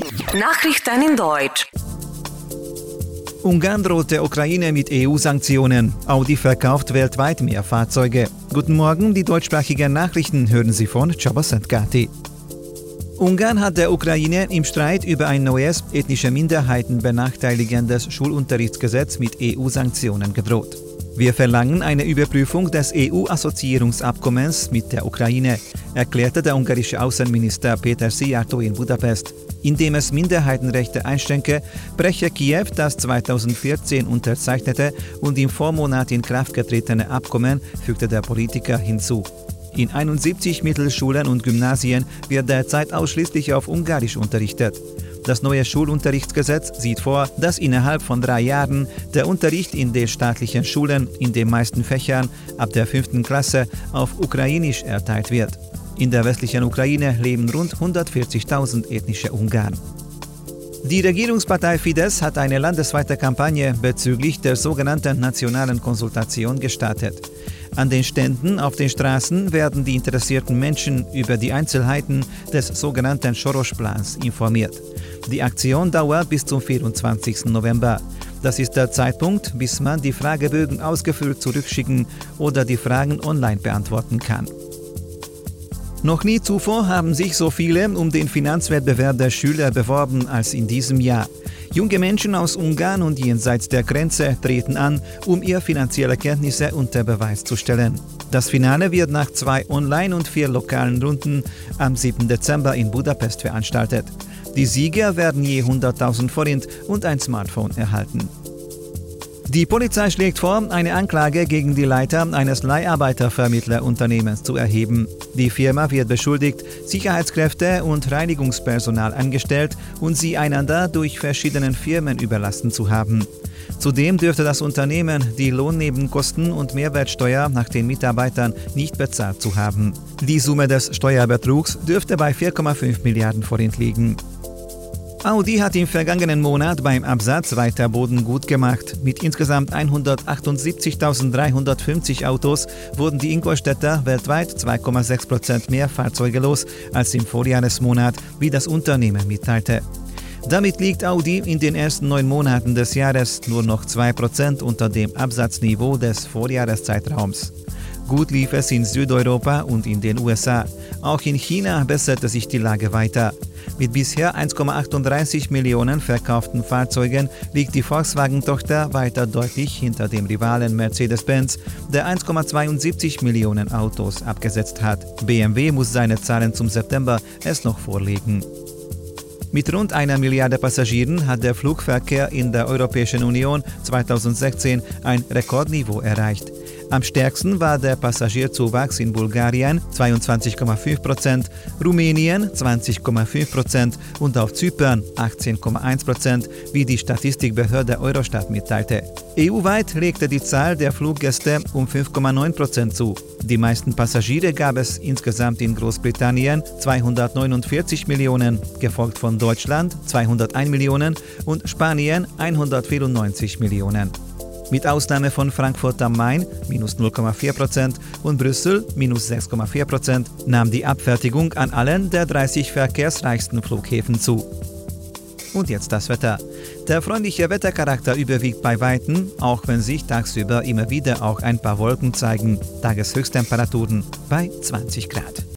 Nachrichten in Deutsch. Ungarn droht der Ukraine mit EU-Sanktionen. Audi verkauft weltweit mehr Fahrzeuge. Guten Morgen, die deutschsprachigen Nachrichten hören Sie von Csaba Gati. Ungarn hat der Ukraine im Streit über ein neues, ethnische Minderheiten benachteiligendes Schulunterrichtsgesetz mit EU-Sanktionen gedroht. Wir verlangen eine Überprüfung des EU-Assoziierungsabkommens mit der Ukraine, erklärte der ungarische Außenminister Péter Szijjártó in Budapest. Indem es Minderheitenrechte einschränke, breche Kiew das 2014 unterzeichnete und im Vormonat in Kraft getretene Abkommen, fügte der Politiker hinzu. In 71 Mittelschulen und Gymnasien wird derzeit ausschließlich auf Ungarisch unterrichtet. Das neue Schulunterrichtsgesetz sieht vor, dass innerhalb von 3 Jahren der Unterricht in den staatlichen Schulen in den meisten Fächern ab der 5. Klasse auf Ukrainisch erteilt wird. In der westlichen Ukraine leben rund 140.000 ethnische Ungarn. Die Regierungspartei Fidesz hat eine landesweite Kampagne bezüglich der sogenannten nationalen Konsultation gestartet. An den Ständen auf den Straßen werden die interessierten Menschen über die Einzelheiten des sogenannten Soros-Plans informiert. Die Aktion dauert bis zum 24. November. Das ist der Zeitpunkt, bis man die Fragebögen ausgefüllt zurückschicken oder die Fragen online beantworten kann. Noch nie zuvor haben sich so viele um den Finanzwettbewerb der Schüler beworben als in diesem Jahr. Junge Menschen aus Ungarn und jenseits der Grenze treten an, um ihre finanzielle Kenntnisse unter Beweis zu stellen. Das Finale wird nach 2 Online- und 4 lokalen Runden am 7. Dezember in Budapest veranstaltet. Die Sieger werden je 100.000 Forint und ein Smartphone erhalten. Die Polizei schlägt vor, eine Anklage gegen die Leiter eines Leiharbeitervermittlerunternehmens zu erheben. Die Firma wird beschuldigt, Sicherheitskräfte und Reinigungspersonal angestellt und sie einander durch verschiedene Firmen überlassen zu haben. Zudem dürfte das Unternehmen die Lohnnebenkosten und Mehrwertsteuer nach den Mitarbeitern nicht bezahlt zu haben. Die Summe des Steuerbetrugs dürfte bei 4,5 Milliarden Forint liegen. Audi hat im vergangenen Monat beim Absatz weiter Boden gut gemacht. Mit insgesamt 178.350 Autos wurden die Ingolstädter weltweit 2,6% mehr Fahrzeuge los als im Vorjahresmonat, wie das Unternehmen mitteilte. Damit liegt Audi in den ersten 9 Monaten des Jahres nur noch 2% unter dem Absatzniveau des Vorjahreszeitraums. Gut lief es in Südeuropa und in den USA. Auch in China besserte sich die Lage weiter. Mit bisher 1,38 Millionen verkauften Fahrzeugen liegt die Volkswagen-Tochter weiter deutlich hinter dem Rivalen Mercedes-Benz, der 1,72 Millionen Autos abgesetzt hat. BMW muss seine Zahlen zum September erst noch vorlegen. Mit rund 1 Milliarde Passagieren hat der Flugverkehr in der Europäischen Union 2016 ein Rekordniveau erreicht. Am stärksten war der Passagierzuwachs in Bulgarien 22,5%, Rumänien 20,5% und auf Zypern 18,1%, wie die Statistikbehörde Eurostat mitteilte. EU-weit legte die Zahl der Fluggäste um 5,9% zu. Die meisten Passagiere gab es insgesamt in Großbritannien 249 Millionen, gefolgt von Deutschland 201 Millionen und Spanien 194 Millionen. Mit Ausnahme von Frankfurt am Main minus 0,4% und Brüssel minus 6,4% nahm die Abfertigung an allen der 30 verkehrsreichsten Flughäfen zu. Und jetzt das Wetter. Der freundliche Wettercharakter überwiegt bei Weitem, auch wenn sich tagsüber immer wieder auch ein paar Wolken zeigen. Tageshöchsttemperaturen bei 20 Grad.